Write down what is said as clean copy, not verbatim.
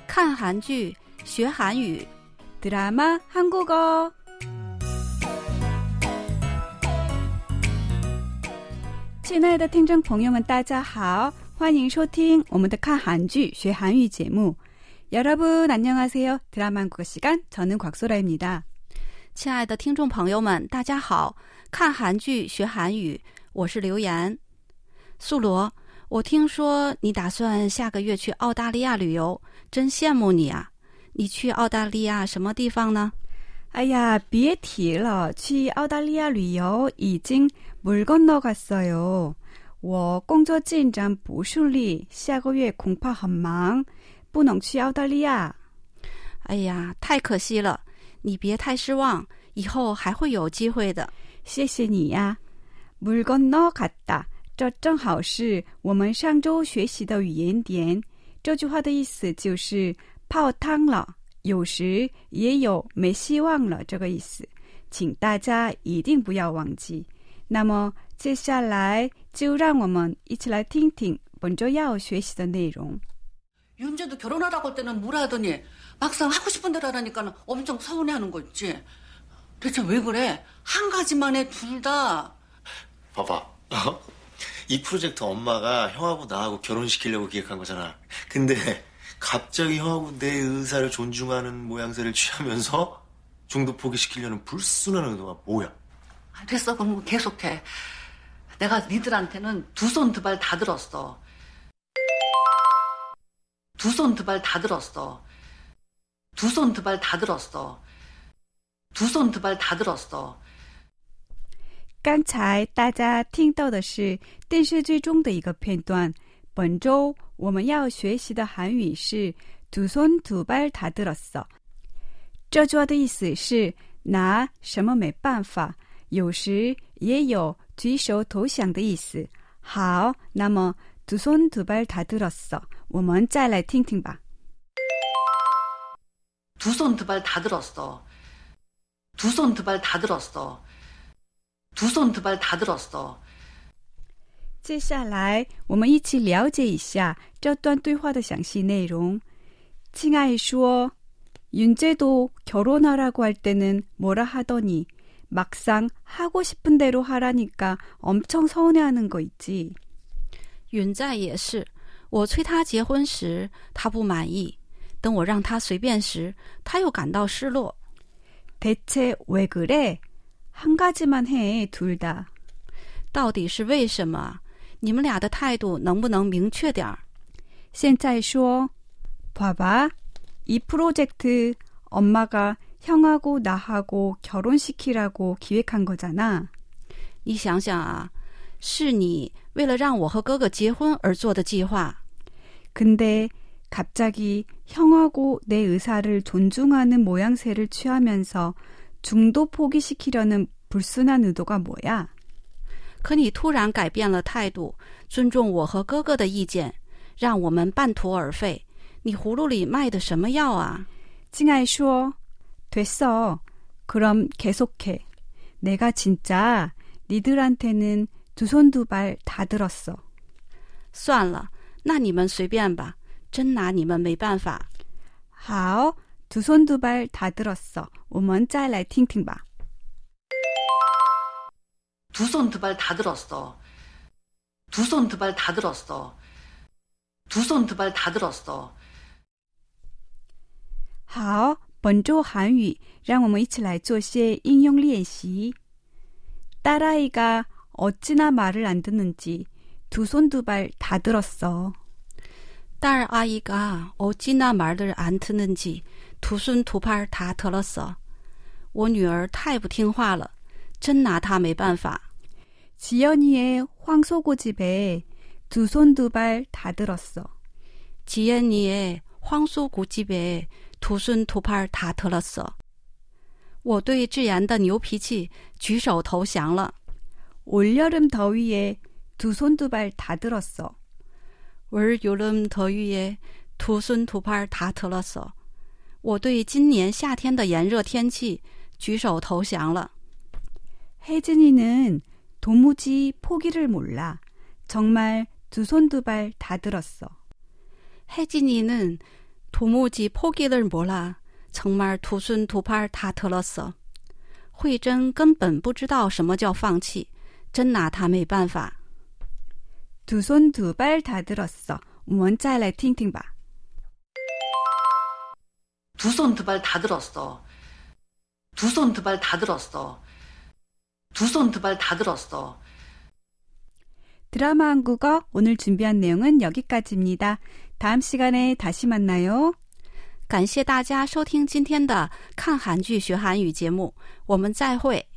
看韩剧学韩语 드라마 한국어. 亲爱的听众朋友们大家好，欢迎收听我们的看韩剧学韩语节目。 여러분 안녕하세요. 드라마 한국어 시간 저는 곽소라입니다. 亲爱的听众朋友们大家好，看韩剧学韩语，我是刘岩。素罗，我听说你打算下个月去澳大利亚旅游，真羡慕你啊。你去澳大利亚什么地方呢？哎呀，别提了，去澳大利亚旅游已经물 건너갔어요。我工作进展不顺利，下个月恐怕很忙，不能去澳大利亚。哎呀，太可惜了，你别太失望，以后还会有机会的。谢谢你呀。물 건너갔다，这正好是我们上周学习的语言点。这句话的意思就是泡汤了，有时也有没希望了这个意思，请大家一定不要忘记。那么接下来就让我们一起来听听本周要学习的内容。 윤재도 결혼하라고 할 때는 뭐라 하더니 막상 하고 싶은 대로 하라니까 엄청 서운해하는 거 있지. 대체 왜 그래? 한 가지만 해, 둘 다. 봐봐. 이 프로젝트 엄마가 형하고 나하고 결혼시키려고 기획한 거잖아. 근데 갑자기 형하고 내 의사를 존중하는 모양새를 취하면서 중도 포기시키려는 불순한 의도가 뭐야? 됐어, 그럼 계속해. 내가 니들한테는 두 손 두 발 다 들었어. 두 손 두 발 다 들었어. 두 손 두 발 다 들었어. 두 손 두 발 다 들었어. 刚才大家听到的是电视剧中的一个片段。本周我们要学习的韩语是두 손 두 발 다 들었어。这句话的意思是拿什么没办法，有时也有举手投降的意思。好，那么두 손 두 발 다 들었어，我们再来听听吧。두 손 두 발 다 들었어. 두 손 두 발 다 들었어. 두 손 두 발 다 들었어. 接下来我们一起了解一下这段对话的详细内容。亲爱说，윤재도 결혼하라고 할 때는 뭐라 하더니 막상 하고 싶은 대로 하라니까 엄청 서운해하는 거 있지. 允在也是，我催他结婚时他不满意，等我让他随便时他又感到失落。 대체 왜 그래? 한 가지만 해, 둘 다. 到底是为什么？你们俩的态度能不能明确点儿？现在说， 봐봐, 이 프로젝트 엄마가 형하고 나하고 결혼시키라고 기획한 거잖아. 你想想啊，是你为了让我和哥哥结婚而做的计划。 근데 갑자기 형하고 내 의사를 존중하는 모양새를 취하면서 중도 포기시키려는 불순한 의도가 뭐야? 可你突然改变了态度，尊重我和哥哥的意见，让我们半途而废。你葫芦里卖的什么药啊？ 亲爱说， 됐어. 그럼 계속해. 내가 진짜 니들한테는 두 손 두 발 다 들었어. 算了，那你们随便吧，真拿你们没办法。好，두 손 두 발 다 들었어. 我们再来听听吧。 두 손 두 발 다 들었어. 두 손 두 발 다 들었어. 두 손 두 발 다 들었어. 好，本周韩语让我们一起来做些应用练习。 딸아이가 어찌나 말을 안 듣는지 두 손 두 발 다 들었어. 딸아이가 어찌나 말을 안 듣는지 두 손 두 발 다 들었어. 我女儿太不听话了，真拿她没办法。 지연이의 황소고집에 두 손 두 발 다 들었어. 지연이의 황소고집에 두 손 두 발 다 들었어. 我对志妍的牛脾气举手投降了。 올여름 더위에 두 손 두 발 다 들었어. 올여름 더위에 두 손 두 발 다 들었어. 我对今年夏天的炎热天气举手投降了。 혜진이는 도무지 포기를 몰라. 정말 두 손 두 발 다 들었어. 혜진이는 도무지 포기를 몰라. 정말 두 손 두 팔 다 들었어. 慧珍根本不知道什么叫放弃，真拿她没办法。 두 손 두 발 다 들었어. 我们再来听听吧。 두 손 두 발 다 들었어. 두 손 두 발 다 들었어. 두 손 두 발 다 들었어. 드라마 한국어 오늘 준비한 내용은 여기까지입니다. 다음 시간에 다시 만나요. 感谢大家收听今天的看韩剧学韩语节目，我们再会。